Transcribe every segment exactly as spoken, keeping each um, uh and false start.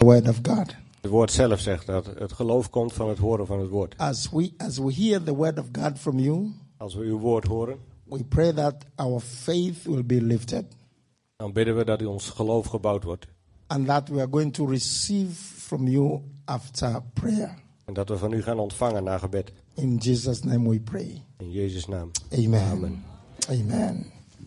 the word of God. Het woord zelf zegt dat het geloof komt van het horen van het woord. As we as we hear the word of God from you, Als we uw woord horen, we pray that our faith will be lifted dan bidden we dat ons geloof gebouwd wordt. and that we are going to receive from you after prayer. En dat we van u gaan ontvangen na gebed. In Jesus' name we pray. In Jezus' naam. Amen. Amen. Amen.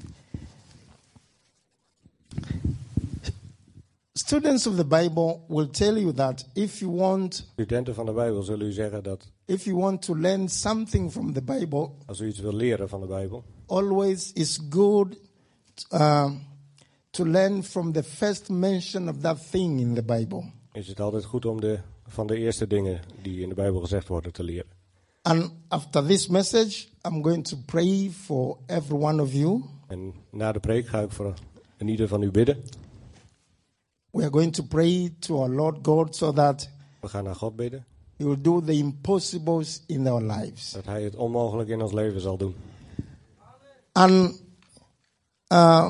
Students of the Bible will tell you that if you want Studenten van de Bijbel zullen u zeggen dat if you want to learn something from the Bible, als u iets wil leren van de Bijbel, always is good uh, to learn from the first mention of that thing in the Bible. is het altijd goed om de, van de eerste dingen die in de Bijbel gezegd worden te leren. And after this message, I'm going to pray for every one of you. En na de preek ga ik voor een ieder van u bidden. We are going to pray to our Lord God so that We gaan naar God bidden. He will do the impossibles in our lives. Dat hij het onmogelijk in ons leven zal doen. And uh,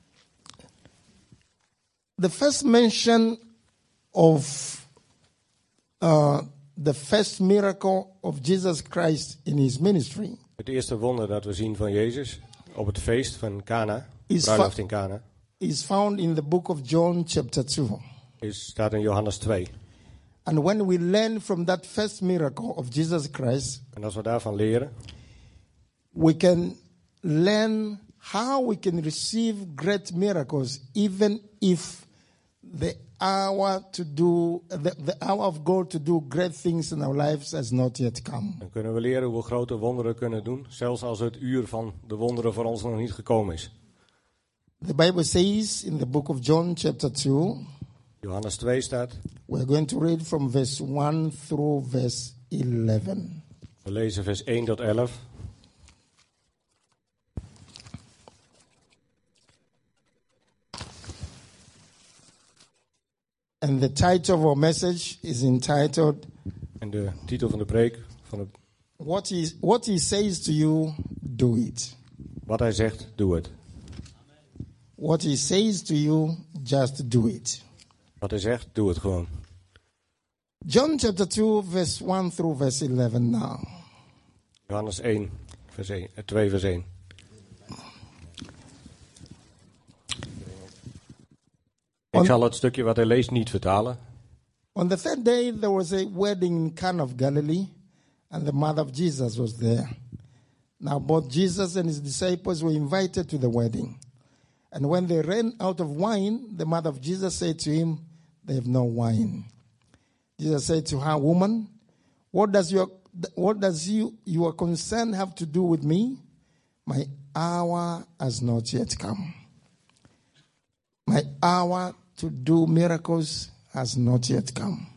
the first mention of uh, the first miracle of Jesus Christ in his ministry Het eerste wonder dat we zien van Jezus op het feest van Cana, Is bruiloft fa- in Cana, is found in the book of John chapter two. is, staat in Johannes twee. And when we learn from that first miracle of Jesus Christ, En als we daarvan leren, we can learn how we can receive great miracles even if the hour to do the, the hour of God to do great things in our lives has not yet come. dan kunnen we leren hoe we grote wonderen kunnen doen, zelfs als het uur van de wonderen voor ons nog niet gekomen is. The Bible says in the book of John chapter two, Johannes twee staat, we're going to read from verse one through verse eleven. we lezen vers één tot elf. And the title of our message is entitled, En de titel van de preek, van de, What he, what he says to you, do it. wat hij zegt, doe het. What he says to you, just do it. Wat hij zegt, doe het gewoon. John chapter two, verse one through verse eleven now. Johannes één, vers één, eh, twee vers één. Ik zal het stukje wat hij leest niet vertalen. On the third day, there was a wedding in Cana of Galilee, and the mother of Jesus was there. Now, both Jesus and his disciples were invited to the wedding. And when they ran out of wine, the mother of Jesus said to him, "They have no wine." Jesus said to her, "Woman, what does your what does you your concern have to do with me? My hour has not yet come. My hour to do miracles has not yet come."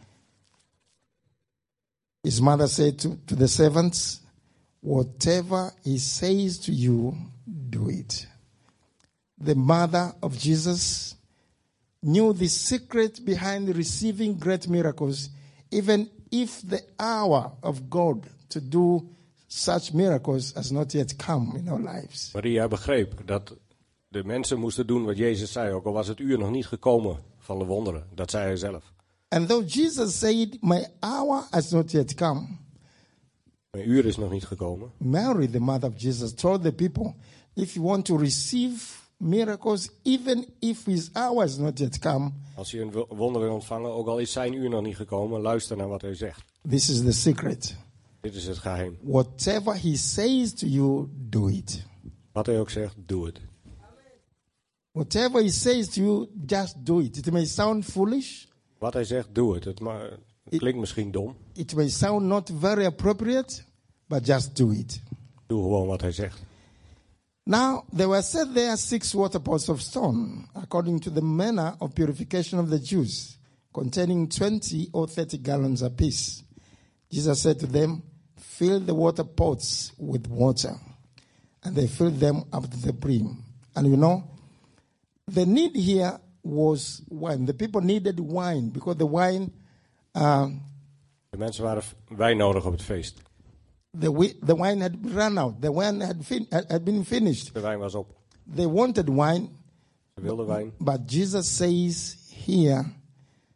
His mother said to, to the servants, "Whatever he says to you, do it." The mother of Jesus knew the secret behind receiving great miracles, even if the hour of God to do such miracles has not yet come in our lives. Maria begreep dat de mensen moesten doen wat Jezus zei, ook al was het uur nog niet gekomen van de wonderen. Dat zei hij zelf. And though Jesus said, "My hour has not yet come," Mijn uur is nog niet gekomen. Mary, the mother of Jesus, told the people, if you want to receive miracles, even if his hour has not yet come, Als je een wo- wonder wil ontvangen, ook al is zijn uur nog niet gekomen, luister naar wat hij zegt. this is the secret. Dit is het geheim. Whatever he says to you, do it. Wat hij ook zegt, doe het. Whatever he says to you, just do it. It may sound foolish. Wat hij zegt, doe het. Het, ma- het klinkt misschien dom. It may sound not very appropriate, but just do it. Doe gewoon wat hij zegt. Now, there were set there six water pots of stone, according to the manner of purification of the Jews, containing twenty or thirty gallons apiece. Jesus said to them, "Fill the water pots with water." And they filled them up to the brim. And you know, the need here was wine. The people needed wine because the wine, uh, De mensen waren wijn nodig op het feest. the, wi- the wine had run out. The wine had, fin- had had been finished. De wijn was op. They wanted wine, Ze wilden wijn. but Jesus says here,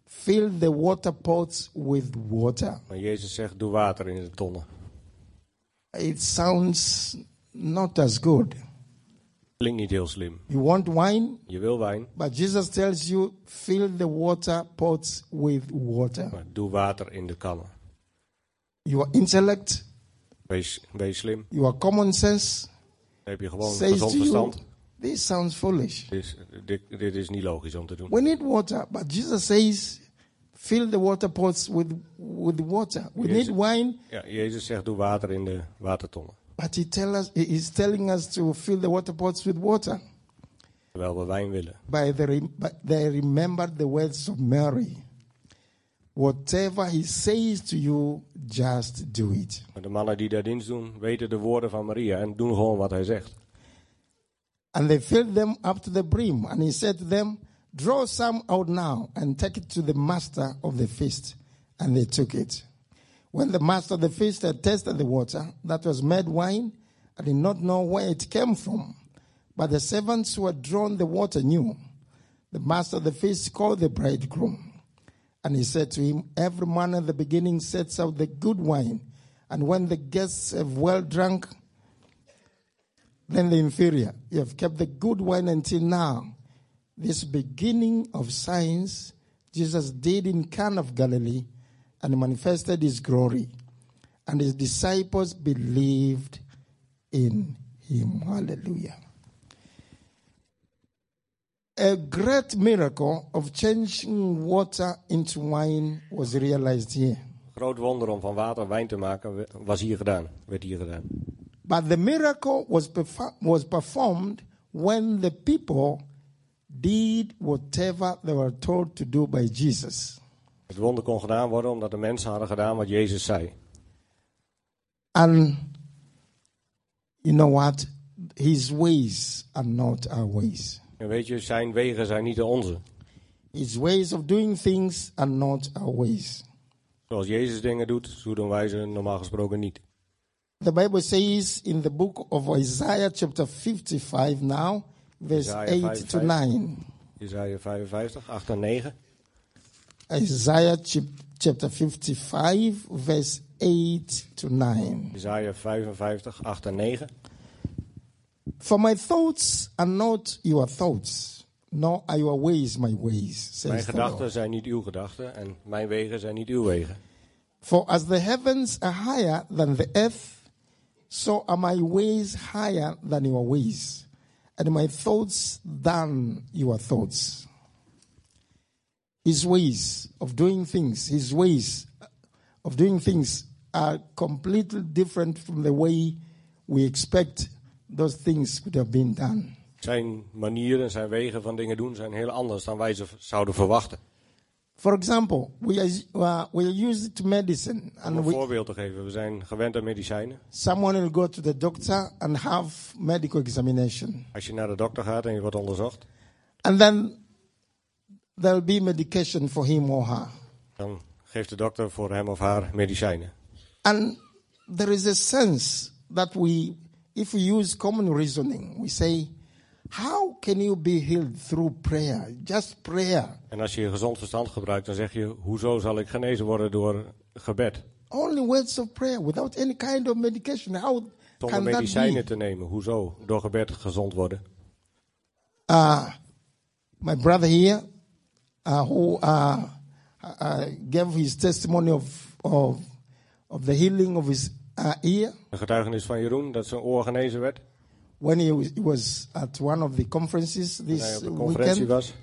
fill the water pots with water. Maar Jezus zegt, doe water in de tonnen. It sounds not as good. Klinkt niet heel slim. You want wine, Je wil wijn, but Jesus tells you fill the water pots with water. maar doe water in de kannen. Your intellect, Wees, wees slim. your common sense Dan heb je gewoon says gezond to you, verstand. this sounds foolish. Dit is, dit, dit is niet logisch om te doen. We need water, but Jesus says fill the water pots with, with water. We Yes. need wine, Ja, Jezus zegt, doe water in de watertonnen. but he tell us, he is telling us to fill the water pots with water. Terwijl we wijn willen. By the re- but they remembered the words of Mary. Whatever he says to you, just do it. Maar de mannen die daar dienst doen, weten de woorden van Maria en doen gewoon wat hij zegt. And they filled them up to the brim. And he said to them, draw some out now and take it to the master of the feast. And they took it. When the master of the feast had tasted the water that was made wine, and did not know where it came from, but the servants who had drawn the water knew. The master of the feast called the bridegroom. And he said to him, every man at the beginning sets out the good wine, and when the guests have well drunk, then the inferior. You have kept the good wine until now. This beginning of signs Jesus did in Cana of Galilee and manifested his glory. And his disciples believed in him. Hallelujah. A great miracle of changing water into wine was realized here. Groot wonder om van water wijn te maken was hier gedaan, werd hier gedaan. But the miracle was perfor- was performed when the people did whatever they were told to do by Jesus. Het wonder kon gedaan worden omdat de mensen hadden gedaan wat Jezus zei. And you know what? His ways are not our ways. En weet je, zijn wegen zijn niet de onze. His ways of doing things are not our ways. Zoals Jezus dingen doet, zo doen wij ze normaal gesproken niet. The Bible says in the book of Isaiah chapter fifty-five now, verse Isaiah eight to nine. Jesaja vijfenvijftig, acht en negen. Isaiah chap- chapter fifty-five, verse eight to nine. Jesaja vijfenvijftig, acht en negen. For my thoughts are not your thoughts, nor are your ways my ways, says Mijn the gedachten Lord. zijn niet uw gedachten en mijn wegen zijn niet uw wegen. For as the heavens are higher than the earth, so are my ways higher than your ways, and my thoughts than your thoughts. His ways of doing things, his ways of doing things are completely different from the way we expect those things could have been done. Zijn manieren, zijn wegen van dingen doen zijn heel anders dan wij ze v- zouden verwachten. For example, we are, uh, we are used to medicine, Om and een we, voorbeeld te geven, we zijn gewend aan medicijnen. someone will go to the doctor and have medical examination. Als je naar de dokter gaat en je wordt onderzocht, And then there'll be medication for him or her. dan geeft de dokter voor hem of haar medicijnen. And there is a sense that we, if we use common reasoning, we say, how can you be healed through prayer? Just prayer. En als je je gezond verstand gebruikt, dan zeg je, hoezo zal ik genezen worden door gebed? Only words of prayer without any kind of medication. How Zonder can that medicijnen be? te nemen, hoezo door gebed gezond worden? Uh, my brother here, uh, who uh, uh, gave his testimony of, of, of the healing of his uh, ear, Een getuigenis van Jeroen, dat zijn oor genezen werd. when he was, he was at one of the conferences Toen hij this op de conferentie weekend, was.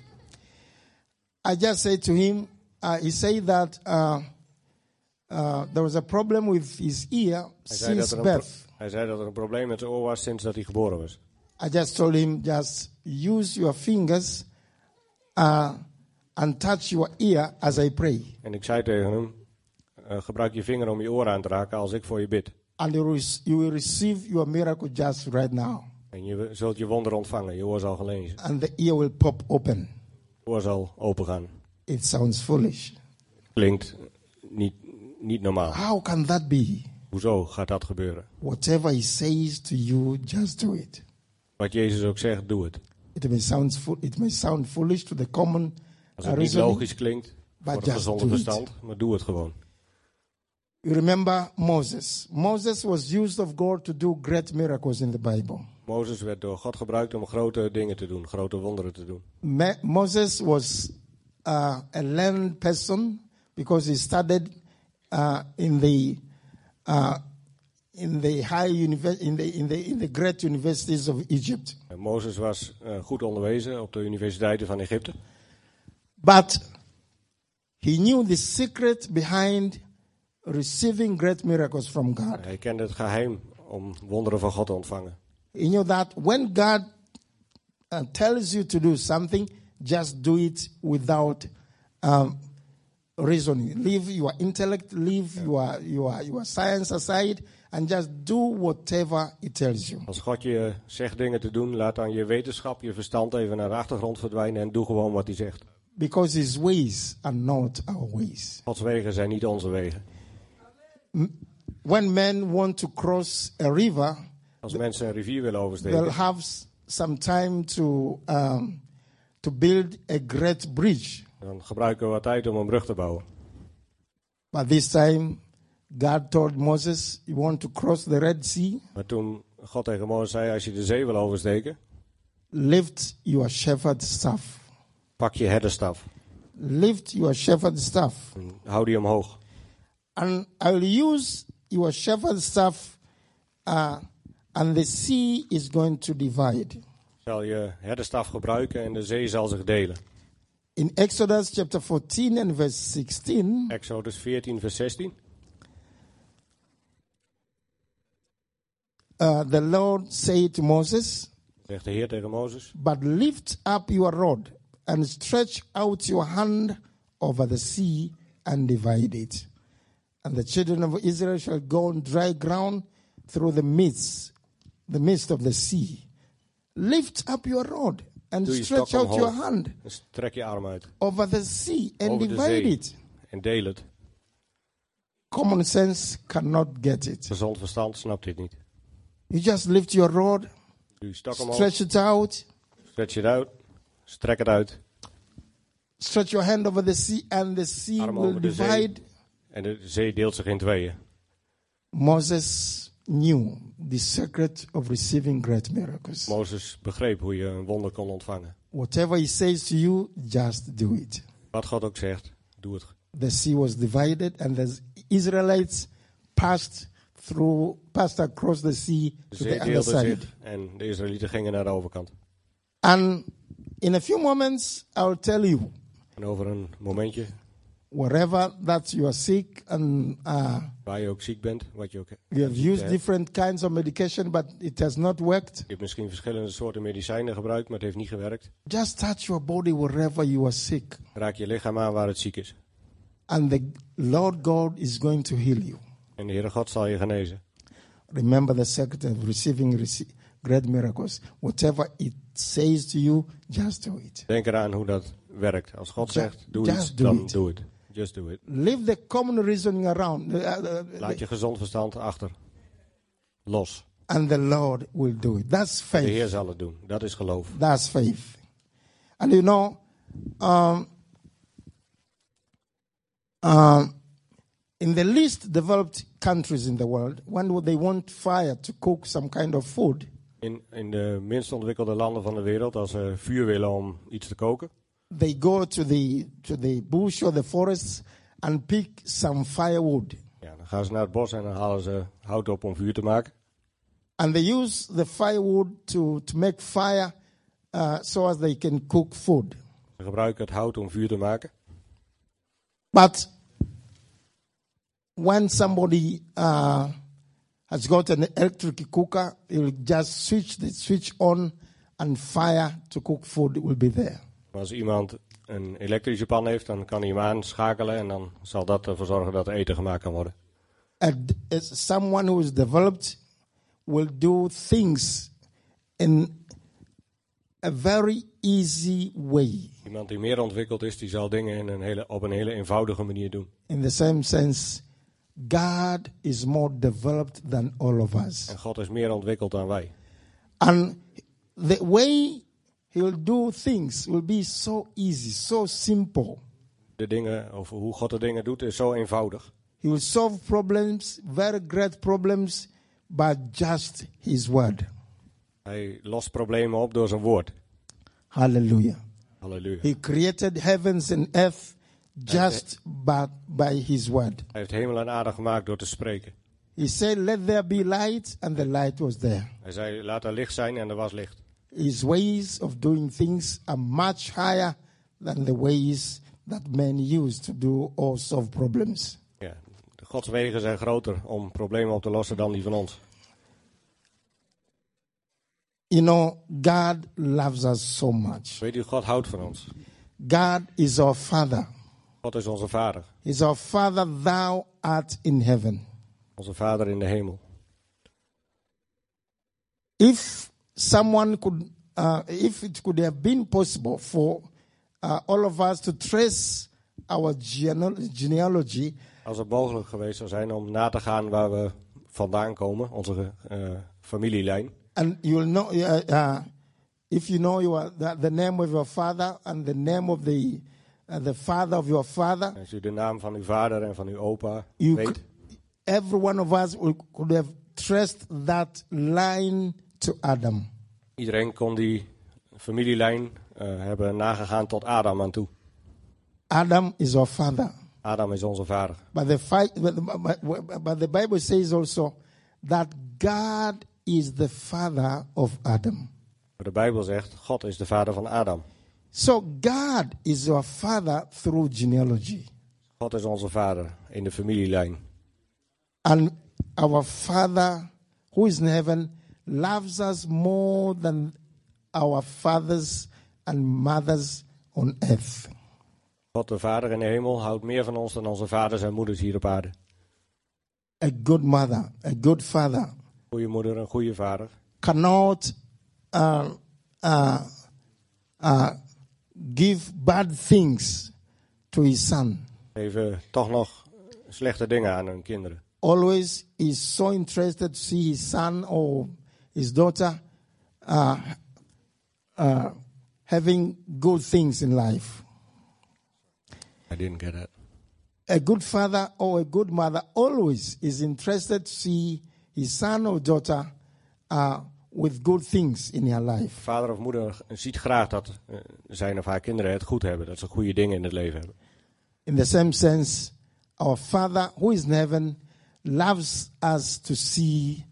I just said to him, uh, he said that uh, uh, there was a problem with his ear Hij zei, dat since er een pro- birth. hij zei dat er een probleem met zijn oor was sinds dat hij geboren was. I just told him, just use your fingers uh, and touch your ear as I pray. En ik zei tegen hem, uh, gebruik je vinger om je oor aan te raken als ik voor je bid. And you will you will receive your miracle just right now. En je zult je wonder ontvangen, je oor zal genezen. And the ear will pop open. Je oor zal opengaan. It sounds foolish. Klinkt niet, niet normaal. How can that be? Hoezo gaat dat gebeuren? Whatever he says to you, just do it. Wat Jezus ook zegt, doe het. It may sound fo- it may sound foolish to the common Als uh, het niet reasoning, logisch klinkt, But voor het just gezonde do it. verstand, maar doe het gewoon. You remember Moses. Moses was used of God to do great miracles in the Bible. Mozes werd door God gebruikt om grote dingen te doen, grote wonderen te doen. Ma- Moses was uh, a learned person because he studied uh, in the uh, in the high univer- in the in the in the great universities of Egypt. En Mozes was uh, goed onderwezen op de universiteiten van Egypte. But he knew the secret behind receiving great miracles from God. Hij kende het geheim om wonderen van God te ontvangen. He knew that when God uh, tells you to do something, just do it without um, reasoning. Leave your intellect, leave your, your, your science aside, and just do whatever it tells you. Als God je zegt dingen te doen, laat dan je wetenschap, je verstand even naar de achtergrond verdwijnen en doe gewoon wat hij zegt. Because his ways are not our ways. Gods wegen zijn niet onze wegen. When men want to cross a river, Als mensen een rivier willen they'll oversteken, have s- some time to um, to build a great bridge. dan gebruiken we wat tijd om een brug te bouwen. But this time, God told Moses, "You want to cross the Red Sea? Maar toen God tegen Mozes zei, als je de zee wil oversteken, Lift your shepherd's staff. pak je herderstaf Lift your shepherd's staff, en hou die omhoog. and I will use your shepherd's staff, uh, and the sea is going to divide." Zal je herderstaf gebruiken en de zee zal zich delen. In Exodus chapter fourteen and verse sixteen, Exodus veertien vers zestien. uh, the Lord said to Moses, Zegt de Heer tegen Mozes. "But lift up your rod and stretch out your hand over the sea and divide it. And the children of Israel shall go on dry ground through the midst, the midst of the sea. Lift up your rod and Doe je stretch stok out your omhoog. hand En strek je arm uit over the sea and over de divide zee it." en deel het. Common sense cannot get it. Gezond verstand snapt dit niet. You just lift your rod, Doe je stok omhoog, stretch it out, stretch het uit, strek het uit. stretch your hand over the sea, and the sea Arm will over de zee. divide. En de zee deelt zich in tweeën. Moses knew the secret of receiving great miracles. Mozes begreep hoe je een wonder kon ontvangen. Whatever he says to you, just do it. Wat God ook zegt, doe het. The sea was divided, and the Israelites passed through, passed across the sea De to zee the other deelde side. zich en de Israëlieten gingen naar de overkant. And in a few moments, I will tell you, En over een momentje, wherever that you are sick, and uh, waar je ook ziek bent, wat je ook you have ziekte used hebt. different kinds of medication, but it has not worked. Je hebt misschien verschillende soorten medicijnen gebruikt, maar het heeft niet gewerkt. Just touch your body wherever you are sick, Raak je lichaam aan waar het ziek is. and the Lord God is going to heal you. En de Heere God zal je genezen. Remember the secret of receiving rece- great miracles. Whatever it says to you, just do it. Denk eraan hoe dat werkt. Als God Ju- zegt, doe just iets, do dan it. doe het. Just do it. Leave the common reasoning around, uh, uh, Laat je gezond verstand achter. Los. and the Lord will do it. That's De Heer faith. zal het doen. Dat is geloof. That's faith. And you know, um, um, in the least developed countries in the world, when they want fire to cook some kind of food, In, in de minst ontwikkelde landen van de wereld, als ze vuur willen om iets te koken, they go to the to the bush or the forest and pick some firewood, ja, dan gaan ze naar het bos en dan halen ze hout op om vuur te maken. and they use the firewood to to make fire, uh, so as they can cook food. Ze gebruiken het hout om vuur te maken. But when somebody uh, has got an electric cooker, he will just switch the switch on, and fire to cook food will be there. Maar als iemand een elektrische pan heeft, dan kan hij hem aanschakelen en dan zal dat ervoor zorgen dat er eten gemaakt kan worden. And as someone who is developed will do things in a very easy way. Iemand die meer ontwikkeld is, die zal dingen in een hele, op een hele eenvoudige manier doen. In the same sense, God is more developed than all of us. En God is meer ontwikkeld dan wij. And the way he will do things will be so easy, so simple. de dingen, over hoe God de dingen doet, is zo eenvoudig. He will solve problems, very great problems, by just his word. Hij lost problemen op door zijn woord. Hallelujah. Halleluja. He created heavens and earth just by, by his word. Hij heeft hemel en aarde gemaakt door te spreken. He said, let there be light, and the light was there. Hij zei, laat er licht zijn en er was licht. His ways of doing things are much higher than the ways that men use to do or solve problems. Ja, de Gods wegen zijn groter om problemen op te lossen dan die van ons. You know, God loves us so much. Weet u, God houdt van ons. God is our Father. God is onze Vader. He's our Father, thou art in heaven. Onze Vader in de hemel. If someone could, uh, if it could have been possible for uh, all of us to trace our gene- genealogy, Als het mogelijk geweest zou zijn om na te gaan waar we vandaan komen, onze uh, familielijn. and you'll know, uh, uh, if you know your, the, the name of your father and the name of the uh, the father of your father, Als u de naam van uw vader en van uw opa you weet, could, every one of us will, could have traced that line to Adam. iedereen kon die familielijn uh, hebben nagegaan tot Adam aan toe. Adam is our father. Adam is onze vader. But the, fi- but the, but the Bible says also that God is the father of Adam. Maar de Bijbel zegt, God is de vader van Adam. So God is our father through genealogy. God is onze vader in de familielijn. And our Father who is in heaven loves us more than our fathers and mothers on earth. God de Vader in de hemel houdt meer van ons dan onze vaders en moeders hier op aarde. A good mother, a good father Goeie moeder en goede vader cannot uh, uh, uh, give bad things to his son. geven toch nog slechte dingen aan hun kinderen. Always is so interested to see his son or his daughter uh, uh, having good things in life. I didn't get that. A good father or a good mother always is interested to see his son or daughter uh, with good things in their life. Vader of moeder ziet graag dat uh, zijn of haar kinderen het goed hebben. Dat ze goede dingen in het leven hebben. In the same sense, our Father who is in heaven loves us to see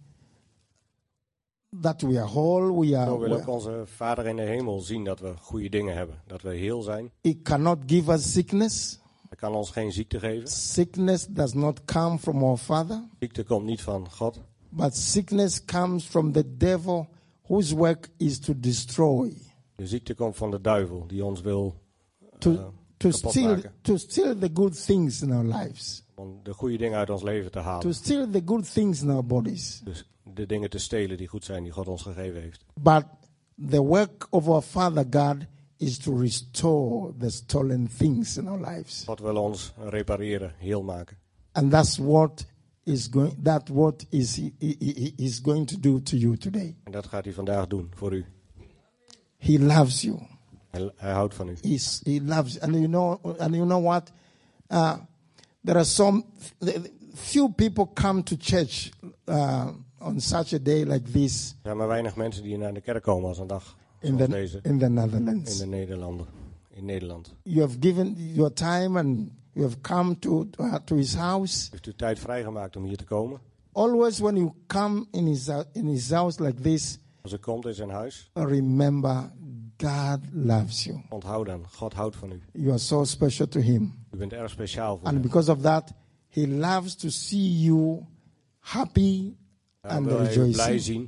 that we are whole, we are Zo wil ook well. onze Vader in de hemel zien dat we goede dingen hebben. Dat we heel zijn. He cannot give us sickness. Hij kan ons geen ziekte geven. Sickness does not come from our Father, Ziekte komt niet van God. but sickness comes from the devil whose work is to destroy, De ziekte komt van de duivel die ons wil to, uh, to, kapot steal, maken. to steal the good things in our lives, Om de goede dingen uit ons leven te to halen. steal the good things in our bodies. Dus de dingen te stelen die goed zijn, die God ons gegeven heeft. But the work of our Father God is to restore the stolen things in our lives. God wil ons repareren, heel maken. And that's what is going that what is he, he, he is going to do to you today. En dat gaat hij vandaag doen voor u. He loves you. Hij, hij houdt van u. He's, he loves you. And you know and you know what? Uh, there are some few people come to church uh, on such a day like this Er zijn maar weinig mensen die naar de kerk komen als een dag in zoals the deze in the in Netherlands. de Nederlanden. In Nederland. You have given your time and you have come to uh, to his house. Heeft u tijd vrijgemaakt om hier te komen? Always when you come in his uh, in his house like this, Als u komt in zijn huis, remember God loves you. onthoud dan, God houdt van u. You are so special to him. U bent erg speciaal voor And hem. because of that, he loves to see you happy Hij and wil hij u blij rejoicing. zien.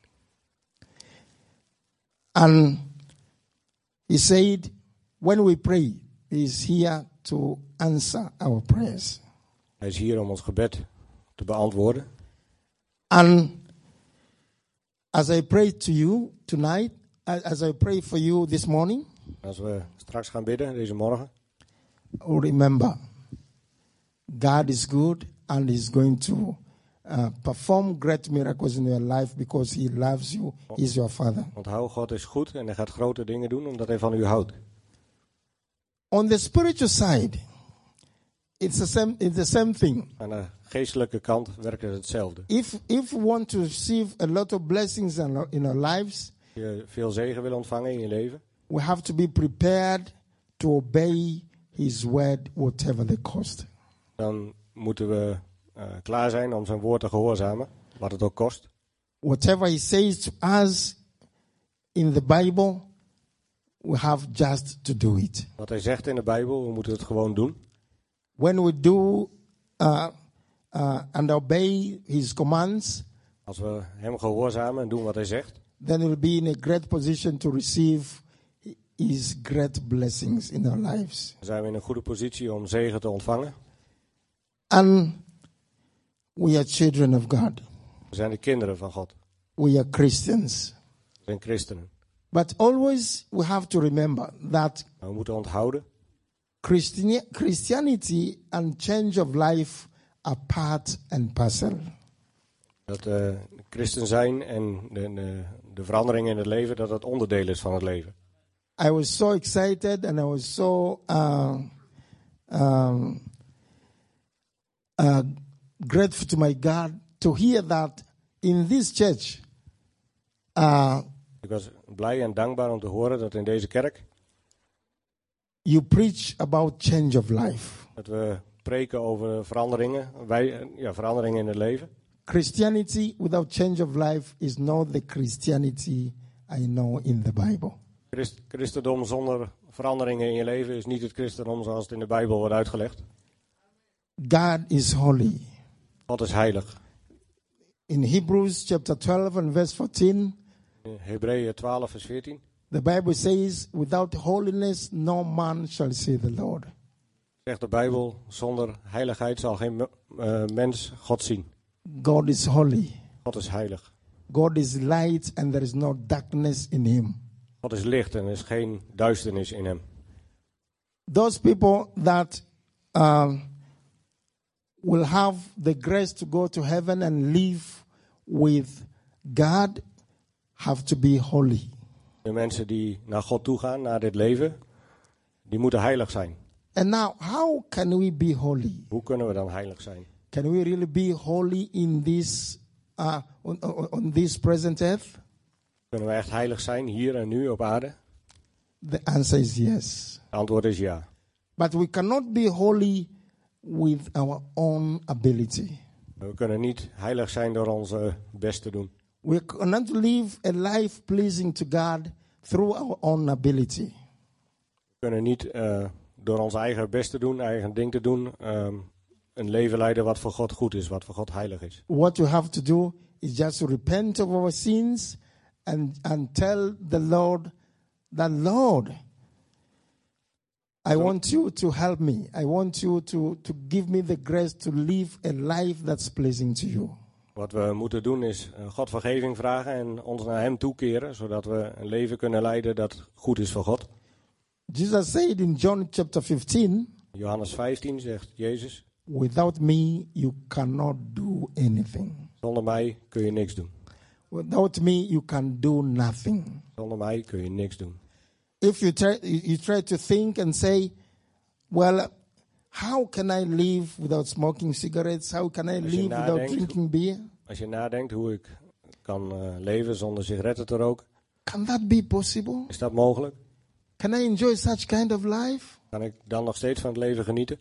And he said, when we pray, he is here to answer our prayers. Hij is hier om ons gebed te beantwoorden. And as I pray to you tonight, as I pray for you this morning, Als we straks gaan bidden, deze morgen, remember, God is good and is going to uh, perform great miracles in your life because he loves you. He is your Father. onthoud, God is goed en hij gaat grote dingen doen omdat hij van u houdt. On the spiritual side, it's the same, it's the same thing. Aan de geestelijke kant werkt het hetzelfde. If, if we want to receive a lot of blessings in our, in our lives, Als je veel zegen wil ontvangen in je leven, we have to be prepared to obey his word, whatever the cost. dan moeten we uh, klaar zijn om zijn woord te gehoorzamen, wat het ook kost. Whatever he says to us in the Bible, we have just to do it. Wat hij zegt in de Bijbel, we moeten het gewoon doen. When we do uh, uh, and obey his commands, Als we hem gehoorzamen en doen wat hij zegt, then we'll be in a great position to receive his great blessings in our lives. dan zijn we in een goede positie om zegen te ontvangen. And we are children of God. We zijn de kinderen van God. We are Christians. We zijn christenen. But always we have to remember that Maar we moeten onthouden, Christiani- Christianity and change of life are part and parcel. dat uh, christen zijn en de, de, de verandering in het leven, dat dat onderdeel is van het leven. I was so excited and I was so uh, um, uh, grateful to my God to hear that in this church, uh, Ik was blij en dankbaar om te horen dat in deze kerk, you preach about change of life. dat we preken over veranderingen, wij, ja, veranderingen in het leven. Christianity without change of life is not the Christianity I know in the Bible. Christ, christendom zonder veranderingen in je leven is niet het christendom zoals het in de Bijbel wordt uitgelegd. God is holy. God is heilig. In Hebrews chapter twelve and verse fourteen, In Hebreeën twaalf vers veertien the Bible says, without holiness no man shall see the Lord. zegt de Bijbel, zonder heiligheid zal geen uh, mens God zien. God is holy. God is heilig. God is light and there is no darkness in him. God is licht en er is geen duisternis in hem. Those people that um, will have the grace to go to heaven and live with God have to be holy. De mensen die naar God toe gaan, naar dit leven, die moeten heilig zijn. And now, how can we be holy? Hoe kunnen we dan heilig zijn? Can we really be holy in this uh, on, on, on this present earth? Kunnen we echt heilig zijn, hier en nu op aarde? The answer is yes. Het antwoord is ja. But we cannot be holy with our own ability. We kunnen niet heilig zijn door onze best te doen. We cannot live a life pleasing to God through our own ability. We kunnen niet uh, door ons eigen best te doen, eigen ding te doen, um, een leven leiden wat voor God goed is, wat voor God heilig is. What we have to do is just to repent of our sins and, and tell the Lord that, Lord, I want you to help me. I want you to, to give me the grace to live a life that's pleasing to you. Wat we moeten doen is uh, God vergeving vragen en ons naar hem toekeren, zodat we een leven kunnen leiden dat goed is voor God. Jesus said in John chapter fifteen, Johannes vijftien zegt Jezus, without me you cannot do anything. zonder mij kun je niks doen. Without me you can do nothing. Zonder mij kun je niks doen. If you try, you try to think and say, well, how can I live without smoking cigarettes? How can I Als je live without nadenkt- drinking beer? Als je nadenkt hoe ik kan uh, leven zonder sigaretten te roken, Can that be possible? is dat mogelijk? Can I enjoy such kind of life? Kan ik dan nog steeds van het leven genieten?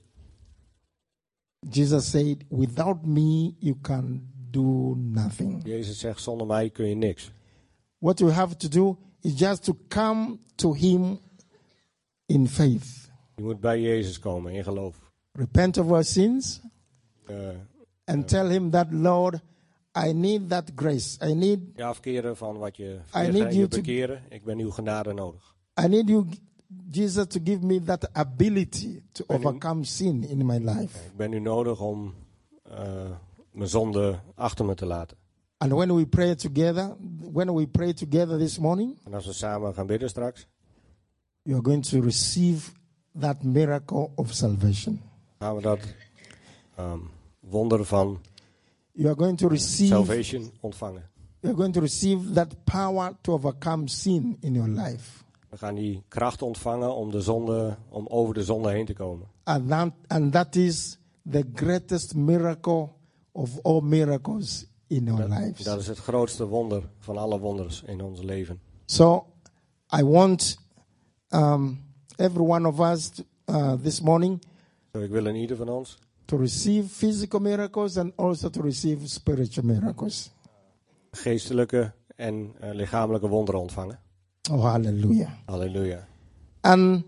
Jesus said, without me you can do nothing. Jezus zegt, zonder mij kun je niks. What we have to do is just to come to him in faith. Je moet bij Jezus komen in geloof. Repent of our sins Uh, and tell him that, Lord, I need that grace. I need je afkeren van wat je I verricht need en you je to- bekeren. Ik ben uw genade nodig. I need you, Jesus, to give me that ability to When you- overcome sin in my life. Ik ben u nodig om uh, mijn zonde achter me te laten. And when we pray together, when we pray together this morning, En als we samen gaan bidden straks, you are going to receive that miracle of salvation. gaan we dat um, wonder van You are going to receive salvation ontvangen. you are going to receive that power to overcome sin in your life. We gaan die kracht ontvangen om, de zonde, om over de zonde heen te komen. And that, and that is the greatest miracle of all miracles in our Dat, lives. dat is het grootste wonder van alle wonders in ons leven. So I want um, every one of us to, uh, this morning Zo, ik wil in ieder van ons to receive physical miracles and also to receive spiritual miracles. geestelijke en uh, lichamelijke wonderen ontvangen. Oh, hallelujah. Halleluja. And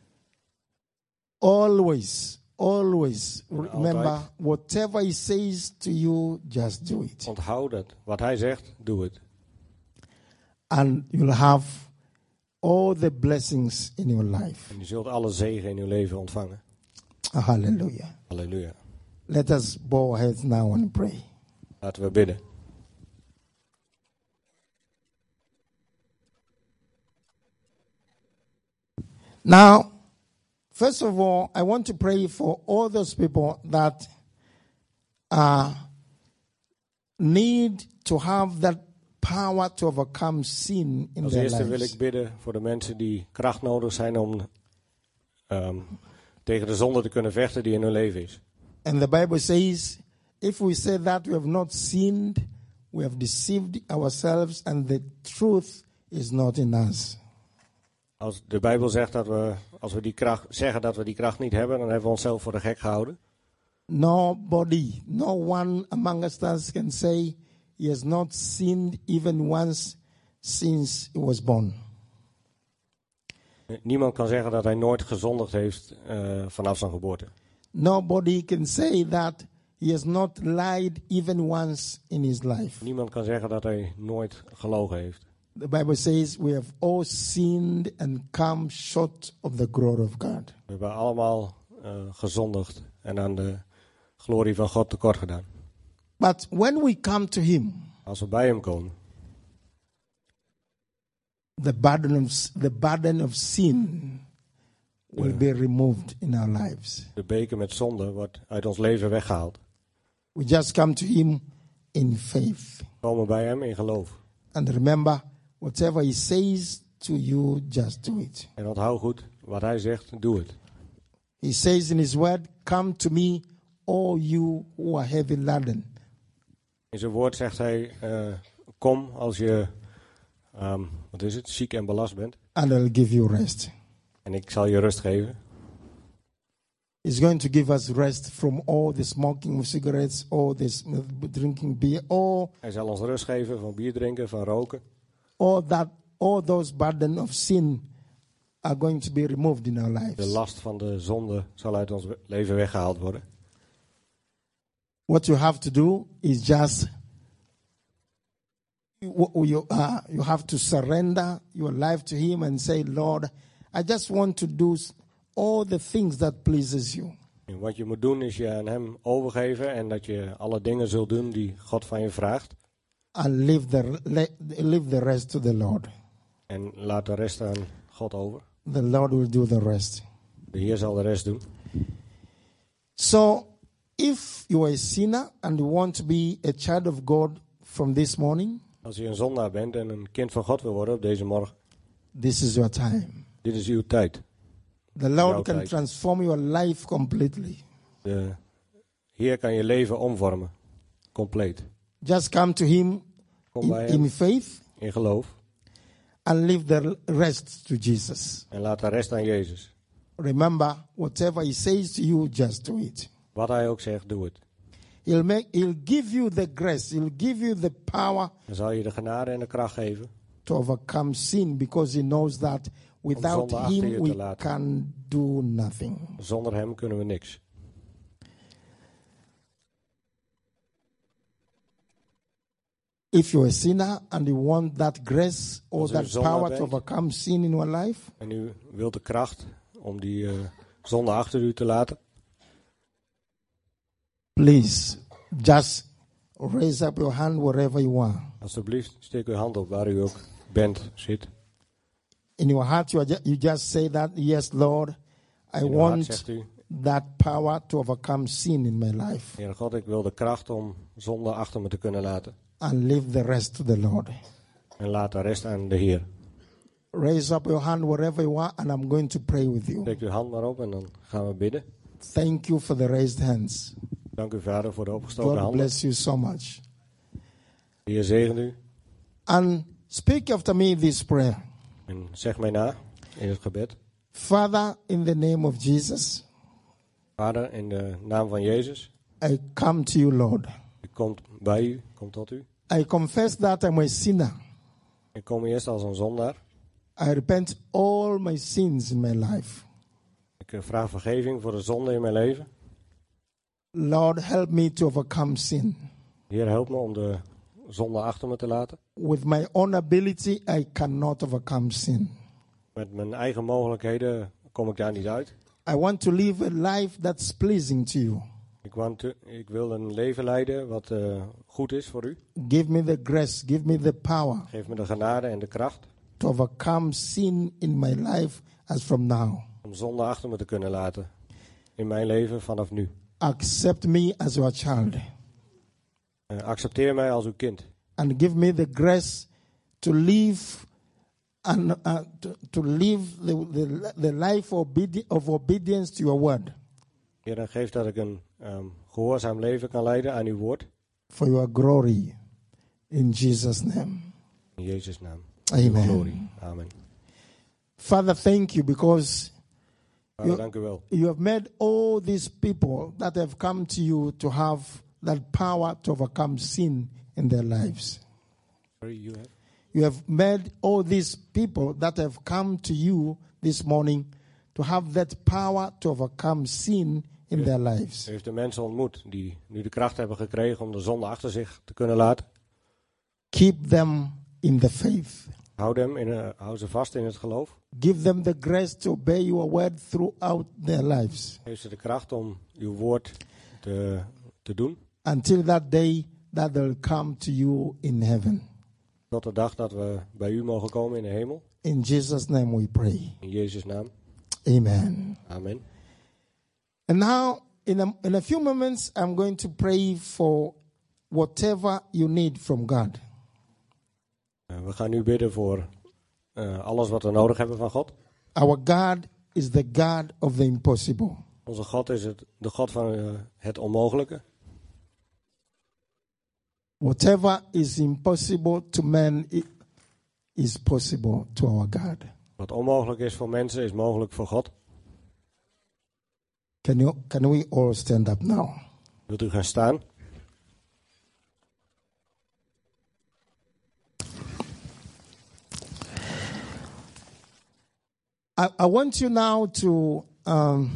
always, always remember, altijd. whatever he says to you, just do it. Onthoud het. Wat hij zegt, doe het. And you'll have all the blessings in your life. En je zult alle zegen in uw leven ontvangen. Hallelujah. Halleluja. Let us bow our heads now and pray. Laten we bidden. Now, first of all, I want to pray for all those people that uh, need to have that power to overcome sin in Als their eerste wil lives. ik bidden voor de mensen die kracht nodig zijn om um, tegen de zonde te kunnen vechten die in hun leven is. And the Bible says, if we say that we have not sinned, we have deceived ourselves and the truth is not in us. Als de Bijbel zegt dat we, als we die kracht, zeggen dat we die kracht niet hebben, dan hebben we onszelf voor de gek gehouden. Nobody, no one among us can say he has not sinned even once since he was born. Niemand kan zeggen dat hij nooit gezondigd heeft uh, vanaf zijn geboorte. Nobody can say that he has not lied even once in his life. Niemand kan zeggen dat hij nooit gelogen heeft. The Bible says we have all sinned and come short of the glory of God. We hebben allemaal uh, gezondigd en aan de glorie van God tekort gedaan. But when we come to him, Als we bij hem komen, the burden of, the burden of sin will Yeah. be removed in our lives. de beker met zonde wordt uit ons leven weggehaald. We just come to him in faith. We komen bij hem in geloof. And remember, whatever he says to you, just do it. En onthoud goed, wat hij zegt, doe het. He says in his word, come to me, all you who are heavy laden. In zijn woord zegt hij, uh, kom als je, um, wat is het, ziek en belast bent. And I'll give you rest. En ik zal je rust geven. He's going to give us rest from all the smoking of cigarettes, all this drinking beer, all, Hij zal ons rust geven van bier drinken, van roken. all that, all those burden of sin are going to be removed in our De lives. last van de zonde zal uit ons leven weggehaald worden. What you have to do is just you, you, uh, you have to surrender your life to him and say, Lord, I just want to do all the things that pleases you. En wat je moet doen is je aan hem overgeven en dat je alle dingen zult doen die God van je vraagt. And leave the, leave the rest to the Lord. En laat de rest aan God over. The Lord will do the rest. De Heer zal de rest doen. So, if you are a sinner and you want to be a child of God from this morning, Als je een zondaar bent en een kind van God wil worden op deze morgen, this is your time. dit is uw tijd. The Lord Jouw can tijd. transform your life completely. De Heer kan je leven omvormen. Compleet. Just come to him Kom in, bij hem in faith in geloof. and leave the rest to Jesus. En laat de rest aan Jezus. Remember, whatever he says to you, just do it. Wat hij ook zegt, doe het. He'll make, he'll give you the grace. He'll give you the power Dan zal je de genade en de kracht geven. to overcome sin because he knows that without zonde achter je him te we laten. can do nothing. Zonder hem kunnen we niks. If you're a sinner and you want that grace or Als u that een zondaar power to bent. overcome sin in your life, En u wilt de kracht om die uh, zonde achter u te laten. please just raise up your hand wherever you are. Alsjeblieft, steek uw hand op waar u ook bent, zit. In your heart, you, are ju- you just say that, yes, Lord, I In uw hart want zegt u, that power to overcome sin in my life Heer God, ik wil de kracht om zonde achter me te kunnen laten. and leave the rest to the Lord. En laat de rest aan de Heer. raise up your hand wherever you are, and I'm going to pray with you. Steek uw hand maar op en dan gaan we bidden. Thank you for the raised hands. Dank u, Vader, voor de opgestoken God handen. bless you so much. De Heer zegen u. And speak after me this prayer. En zeg mij na in het gebed. Father, in the name of Jesus, Vader, in de naam van Jezus. I come to you, Lord. Ik kom bij u, kom tot u. I confess that I'm a sinner. Ik kom eerst als een zondaar. I repent all my sins in my life. Ik vraag vergeving voor de zonde in mijn leven. Lord, help me to overcome sin. Heer, help me om de zonde achter me te laten. With my own ability, I cannot overcome sin. Met mijn eigen mogelijkheden kom ik daar niet uit. I want to live a life that's pleasing to you. Ik, want te, ik wil een leven leiden wat uh, goed is voor u. Give me the grace, give me the power Geef me de genade en de kracht to overcome sin in my life as from now. om zonde achter me te kunnen laten in mijn leven vanaf nu. Accept me as your child. Uh, accepteer mij als uw kind. And give me the grace to live and uh, to, to live the, the, the life obedi- of obedience to your word. Heer, en geef dat ik een um, gehoorzaam leven kan leiden aan uw woord. For your glory. In Jesus' name. In Jezus' naam. Amen. Uw glorie. Amen. Father, thank you because Vader, you, dank u wel. you have made all these people that have come to you to have that power to overcome sin in their lives. Sorry, you have? You have made all these people that have come to you this morning to have that power to overcome sin in their lives. U heeft de mensen ontmoet die nu de kracht hebben gekregen om de zonde achter zich te kunnen laten. Keep them in the faith. Houd, hem in, uh, hou ze vast in het geloof. Give them the grace to obey your word throughout their lives. Geef ze de kracht om uw woord te, te doen. Until that day that they'll come to you in heaven. Tot de dag dat we bij u mogen komen in de hemel. In Jesus' name we pray. In Jezus' naam. Amen. Amen. And now, in a, in a few moments, I'm going to pray for whatever you need from God. Uh, we gaan nu bidden voor uh, alles wat we nodig hebben van God. Our God is the God of the impossible. Onze God is het, de God van uh, het onmogelijke. Whatever is impossible to man is possible to our God. Wat onmogelijk is voor mensen is mogelijk voor God. Can you, can we all stand up now? Wilt u gaan staan? I, I want you now to um,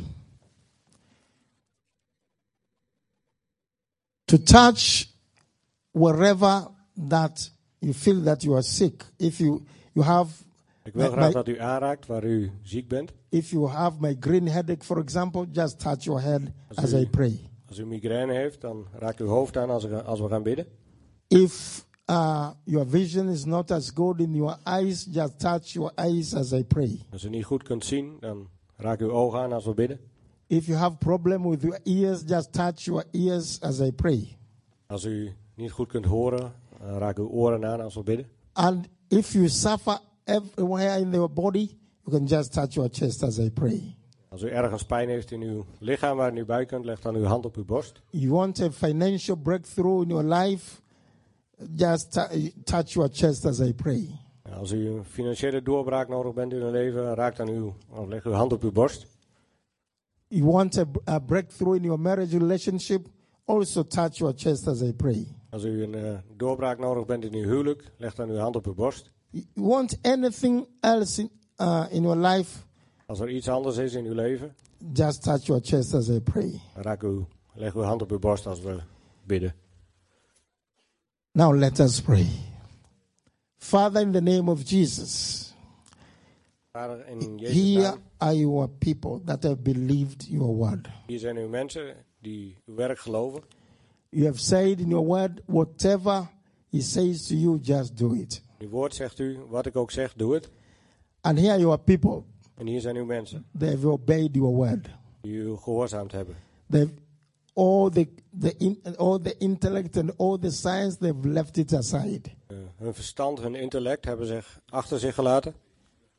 to touch wherever that you feel that you are sick. If you you have, Ik wil my- graag my- dat u aanraakt waar u ziek bent. if you have migraine headache, for example, just touch your head Als as u- I pray. Als u migraine heeft, dan raak uw hoofd aan als, we- als we gaan bidden. If uh, your vision is not as good in your eyes, just touch your eyes as I pray. Als u niet goed kunt zien, dan raak uw ogen aan als we bidden. If you have problem with your ears, just touch your ears as I pray. Als u niet goed kunt horen, dan raak uw oren aan als we bidden. And if you suffer everywhere in your body, you can just touch your chest as I pray. Als u ergens pijn heeft in uw lichaam waar u nu bij kunt, leg dan uw hand op uw borst. You want a financial breakthrough in your life, just t- touch your chest as I pray. Als u een financiële doorbraak nodig bent in uw leven, raak dan uw, of leg uw hand op uw borst. You want a, a breakthrough in your marriage relationship, also touch your chest as I pray. Als u een uh, doorbraak nodig bent in uw huwelijk, leg dan uw hand op uw borst. You want anything else in, uh, in your life, Als er iets anders is in uw leven, just touch your chest as I pray. dan raak uw, leg uw hand op uw borst als we bidden. Now let us pray. Father, in the name of Jesus, Vader, in Jezus' here naam, are your people that have believed your word. hier zijn uw mensen die uw werk geloven. You have said in your word, whatever he says to you, just do it. Uw woord zegt u, wat ik ook zeg, doe het. And here are your people. En hier zijn uw mensen They have obeyed your word. die u gehoorzaamd hebben. They've all the the in, all the intellect and all the science, they've left it aside. Uh, hun verstand, hun intellect hebben zich achter zich gelaten.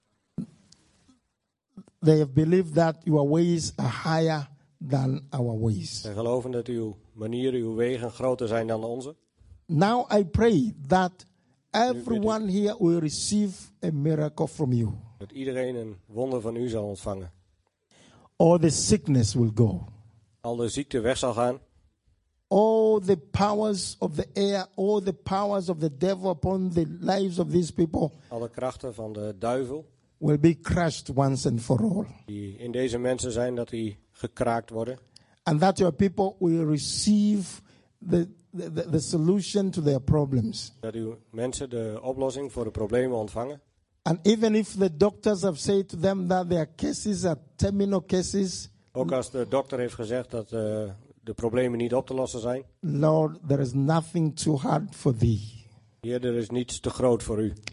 they have believed that your ways are higher than our ways. Zij geloven dat uw manieren, uw wegen groter zijn dan de onze. Now I pray that everyone here will receive a miracle from you. Dat iedereen een wonder van u zal ontvangen. All the sickness will go. Al de ziekte weg zal gaan. All the powers of the air, all the powers of the devil upon the lives of these people Alle krachten van de duivel will be crushed once and for all. die in deze mensen zijn, dat die gekraakt worden. And that your people will receive the, the, the, the solution to their problems. Dat uw mensen de oplossing voor de problemen ontvangen. And even if the doctors have said to them that their cases are terminal cases, Ook als de dokter heeft gezegd dat uh, de problemen niet op te lossen zijn. Lord, there is nothing too hard for thee. Heer, er is niets te groot voor u.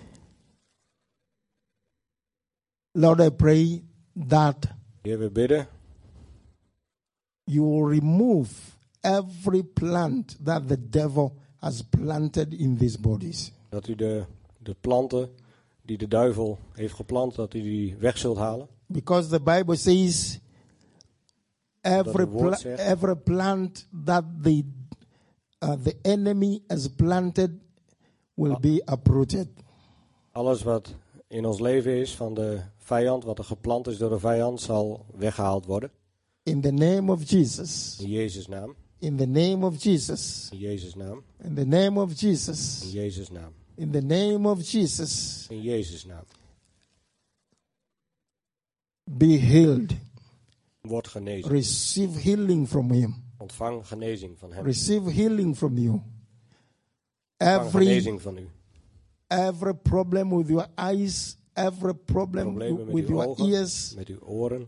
Lord, I pray that Heer, we bidden you will remove every plant that the devil has planted in these bodies. dat u de, de planten die de duivel heeft geplant, dat u die weg zult halen. Because the Bible says every, pla- zegt. every plant that the, uh, the enemy has planted will be uprooted. Alles wat in ons leven is van de vijand, wat er geplant is door de vijand, zal weggehaald worden. In the name of Jesus. In Jezus' naam. In the name of Jesus. In Jezus' naam. In the name of Jesus. In Jezus' naam. In the name of Jesus. In Jezus' naam. Be healed. Word genezen. Receive healing from him. Ontvang genezing van hem. Receive healing from you. Ontvang Every, genezing van u. every problem with your eyes, every problem Problemen met with uw your ogen, ears, met uw oren.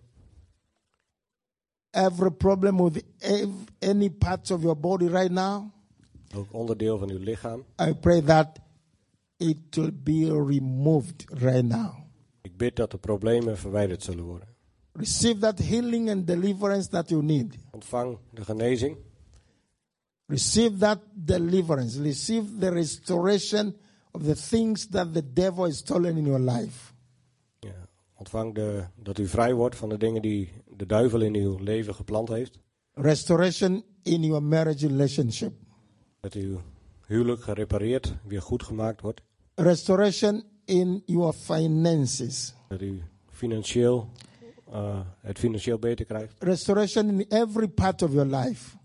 every problem with ev- any part of your body right now, Ook onderdeel van uw lichaam. I pray that it will be removed right now. Ik bid dat de problemen verwijderd zullen worden. Receive that healing and deliverance that you need. Ontvang de genezing. Receive that deliverance. Receive the restoration of the things that the devil has stolen in your life. Ja, ontvang de, dat u vrij wordt van de dingen die de duivel in uw leven geplant heeft. Restoration in your marriage relationship. Dat uw huwelijk gerepareerd, weer goed gemaakt wordt. Restoration in your finances. Dat u financieel, uh, het financieel beter krijgt. Restoration in every part of your life.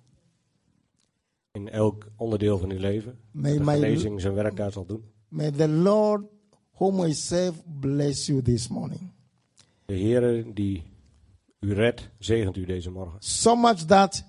In elk onderdeel van uw leven. May De my- genezing zijn werk daar zal doen. May the Lord whom I serve bless you this morning. De Heere die u redt, zegent u deze morgen. So much that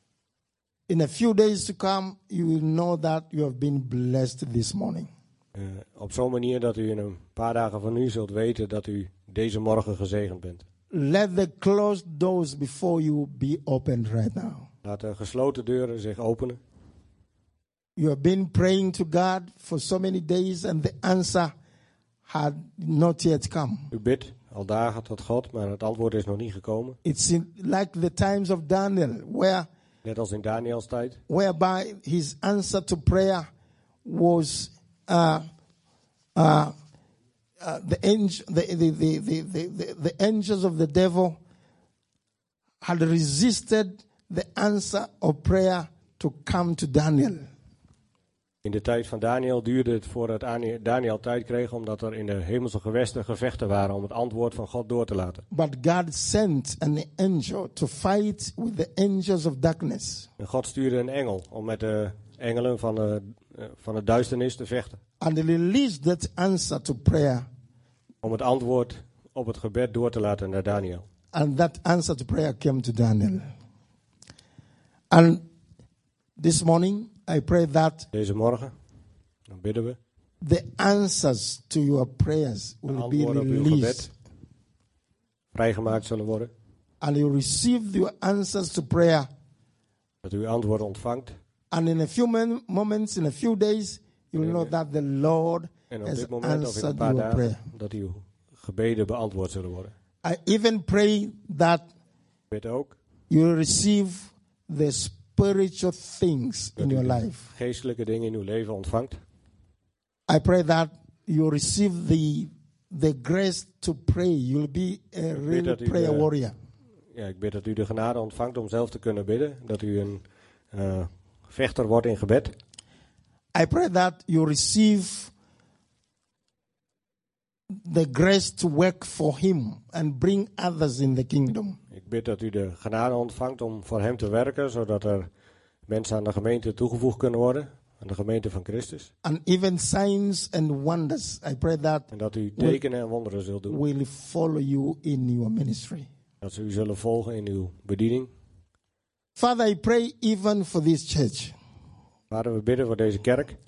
in a few days to come, you will know that you have been blessed this morning. Uh, op zo'n manier dat u in een paar dagen van nu zult weten dat u deze morgen gezegend bent. Let the closed doors before you be opened right now. Laat de gesloten deuren zich openen. You have been praying to God for so many days and the answer had not yet come. U bidt al dagen tot God, maar het antwoord is nog niet gekomen. It's in, like the times of Daniel, where Net als in Daniels tijd. whereby his answer to prayer was uh, uh, uh, the, angel, the, the, the, the, the, the angels of the devil had resisted the answer of prayer to come to Daniel. In de tijd van Daniel duurde het voordat Daniel tijd kreeg, omdat er in de hemelse gewesten gevechten waren om het antwoord van God door te laten. But God sent an angel to fight with the angels of darkness. En God stuurde een engel om met de engelen van de, van de duisternis te vechten. And he released that answer to prayer. Om het antwoord op het gebed door te laten naar Daniel. And that answer to prayer came to Daniel. And this morning, I pray that Deze morgen, dan bidden we. the answers to your prayers De will be antwoorden op uw released. gebed vrijgemaakt zullen worden. And you receive your answers to prayer. Dat u antwoord ontvangt. And in a few men- moments, in a few days, you will know that the Lord En op has dit moment of in een answered paar your dagen prayer. dat uw gebeden beantwoord zullen worden. I even pray that Ik bid ook you will receive the spiritual things in dat u your de life. geestelijke dingen in uw leven ontvangt. I pray that you receive the the grace to pray. You'll be a really dat u prayer de- warrior. Ja, ik bid dat u de genade ontvangt om zelf te kunnen bidden. Dat u een uh, vechter wordt in gebed. I pray that you receive the grace to work for him and bring others in the kingdom. Ik bid dat u de genade ontvangt om voor hem te werken, zodat er mensen aan de gemeente toegevoegd kunnen worden. Aan de gemeente van Christus. And even signs and wonders. I pray that En dat u tekenen en wonderen zult doen. will follow you in your ministry. Dat ze u zullen volgen in uw bediening. Father, I pray even for this church. Vader, we bidden voor deze kerk.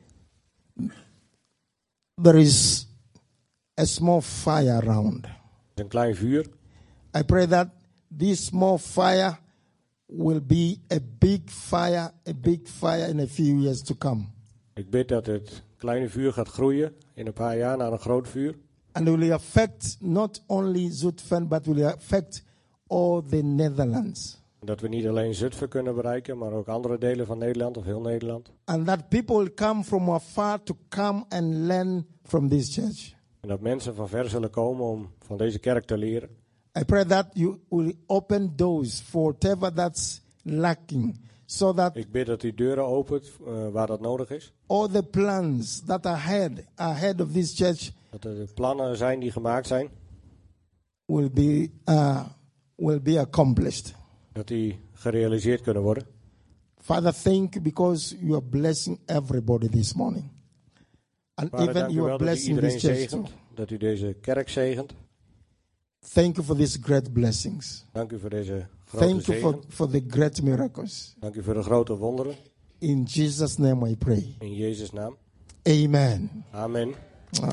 There is a small fire around. Er is een klein vuur. I pray that this small fire will be a big fire, a big fire in a few years to come. Ik bid dat het kleine vuur gaat groeien in een paar jaar naar een groot vuur. And it will affect not only Zutphen, but will affect all the Netherlands. Dat we niet alleen Zutphen kunnen bereiken, maar ook andere delen van Nederland of heel Nederland. And that people will come from afar to come and learn from this church. En dat mensen van ver zullen komen om van deze kerk te leren. I pray that you will open doors for whatever that's lacking, so that Ik bid dat u deuren opent uh, waar dat nodig is. all the plans that are ahead, ahead of this church Dat er plannen zijn die gemaakt zijn, will be uh, will be accomplished. dat die gerealiseerd kunnen worden. Father, thank you because you are blessing everybody this morning. And Vader, even dank u you wel are dat u blessing iedereen this church too. zegent, dat u deze kerk zegent. Thank you for these great blessings. Dank u voor deze grote Thank you for, zegen. for the great miracles. Dank u voor de grote wonderen. In Jesus' name I pray. In Jezus' naam. Amen. Amen. Uh,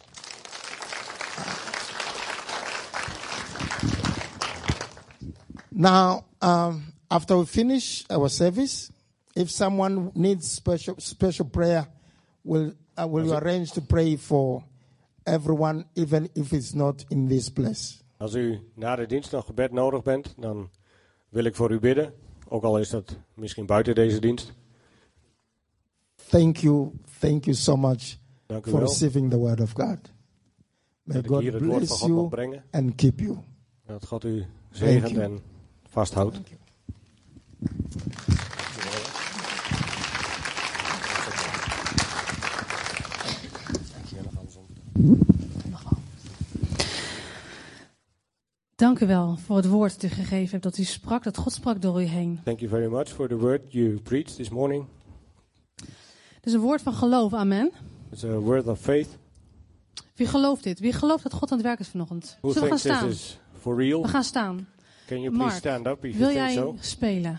Now, um, after we finish our service, if someone needs special special prayer, will uh, will you arrange to pray for everyone, even if it's not in this place? Als u na de dienst nog gebed nodig bent, dan wil ik voor u bidden. Ook al is dat misschien buiten deze dienst. Thank you, thank you so much Dank u for wel receiving the word of God. May dat ik hier God het woord van bless God mag you brengen. and keep you. Dat God u zegent you. en vasthoudt. Thank you. Dank u wel voor het woord dat u gegeven hebt, dat u sprak, dat God sprak door u heen. Thank you very much for the word you preached this morning. Het is een woord van geloof, amen. It's a word of faith. Wie gelooft dit? Wie gelooft dat God aan het werk is vanochtend? Who Zullen we gaan thinks this staan? is for real? We gaan staan. Can you please Mark, stand up if wil you think jij so? spelen?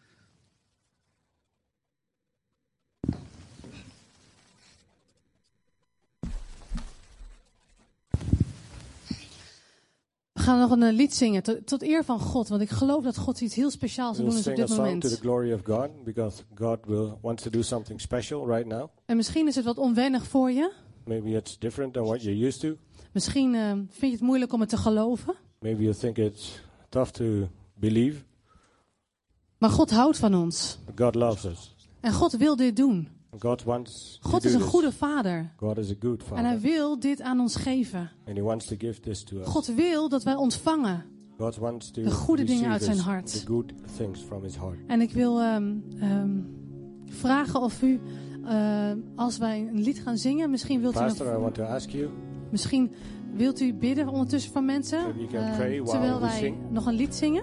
We gaan nog een lied zingen tot, tot eer van God, want ik geloof dat God iets heel speciaals We'll wil doen is sing op a dit song to the moment. glory of God, because God will wants to do something special right now. En misschien is het wat onwennig voor je. Maybe it's different than what you're used to. Misschien uh, vind je het moeilijk om het te geloven. Maybe you think it's tough to believe. Maar God houdt van ons. But God loves us. En God wil dit doen. God wants God to is do een this. goede vader. God is a good En hij father. wil dit aan ons geven. And he wants to give this to us. God wil dat wij ontvangen. God wants to de goede dingen uit receive zijn us, hart. the good things from his heart. En ik wil um, um, vragen of u, uh, als wij een lied gaan zingen, misschien wilt u, Pastor, I nog, want to ask you, misschien wilt u bidden ondertussen voor mensen, Maybe you can uh, pray while terwijl we wij sing. nog een lied zingen.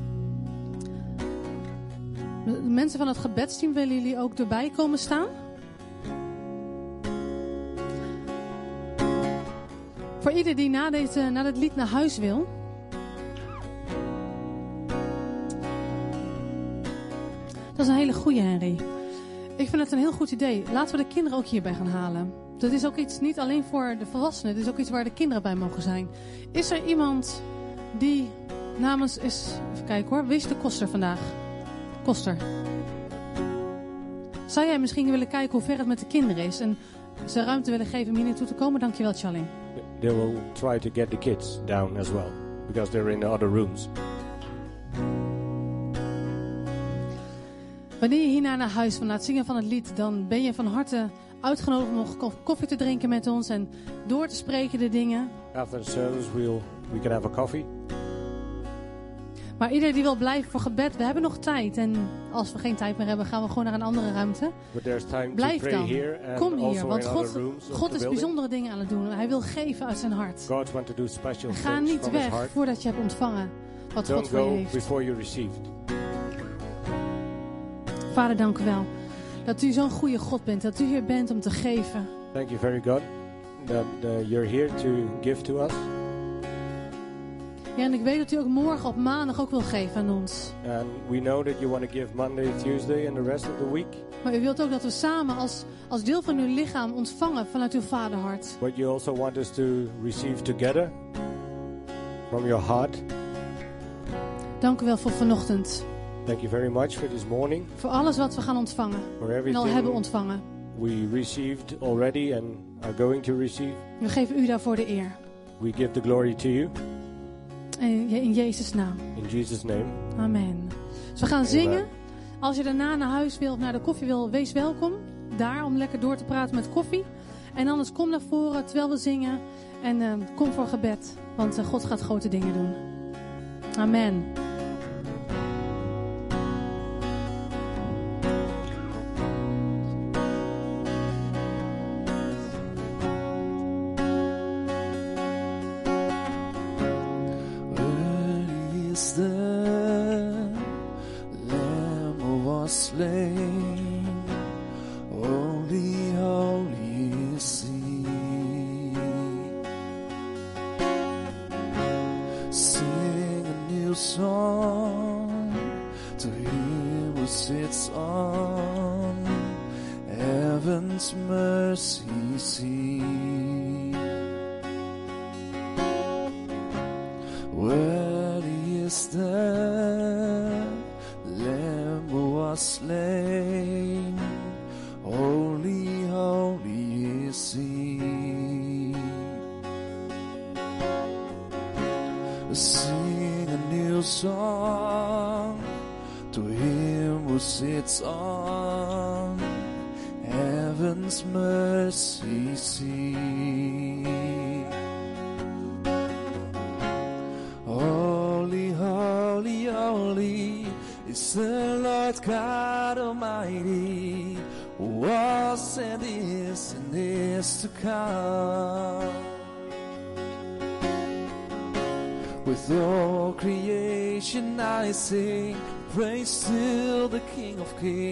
De mensen van het gebedsteam, willen jullie ook erbij komen staan? Voor ieder die na, deze, na dit lied naar huis wil. Dat is een hele goeie, Henry. Ik vind het een heel goed idee. Laten we de kinderen ook hierbij gaan halen. Dat is ook iets niet alleen voor de volwassenen. Het is ook iets waar de kinderen bij mogen zijn. Is er iemand die namens is... Even kijken hoor. Wie is de koster vandaag? Koster. Zou jij misschien willen kijken hoe ver het met de kinderen is? En ze ruimte willen geven om hier naartoe te komen? Dankjewel, Charlie. they will try to get the kids down as well, because they're in the other rooms. Wanneer je hierna naar huis van na het zingen van het lied, dan ben je van harte uitgenodigd om nog koffie te drinken met ons en door te spreken de dingen. After the service, we'll, we can have a coffee. Maar iedereen die wil blijven voor gebed, we hebben nog tijd. En als we geen tijd meer hebben, gaan we gewoon naar een andere ruimte. Blijf dan. Kom hier, want God, God is bijzondere dingen aan het doen. Hij wil geven uit zijn hart. En ga niet weg voordat je hebt ontvangen wat God voor je heeft. Vader, dank u wel dat u zo'n goede God bent. Dat u hier bent om te geven. Thank you very God that uh, you're here to give to us. Ja, en ik weet dat u ook morgen op maandag ook wil geven aan ons. And we know that you want to give Monday, Tuesday and the rest of the week. Maar u wilt ook dat we samen als, als deel van uw lichaam ontvangen vanuit uw vaderhart. But you also want us to receive together from your heart. Dank u wel voor vanochtend. Thank you very much for this morning. Voor alles wat we gaan ontvangen. En al hebben ontvangen. We received already and are going to receive. We geven u daarvoor de eer. We give the glory to you. In Jezus' naam. In Jesus' name. Amen. Dus we gaan Amen. Zingen. Als je daarna naar huis wil of naar de koffie wil, wees welkom. Daar om lekker door te praten met koffie. En anders kom naar voren terwijl we zingen. En uh, kom voor gebed. Want uh, God gaat grote dingen doen. Amen. With all creation I sing praise to the King of Kings.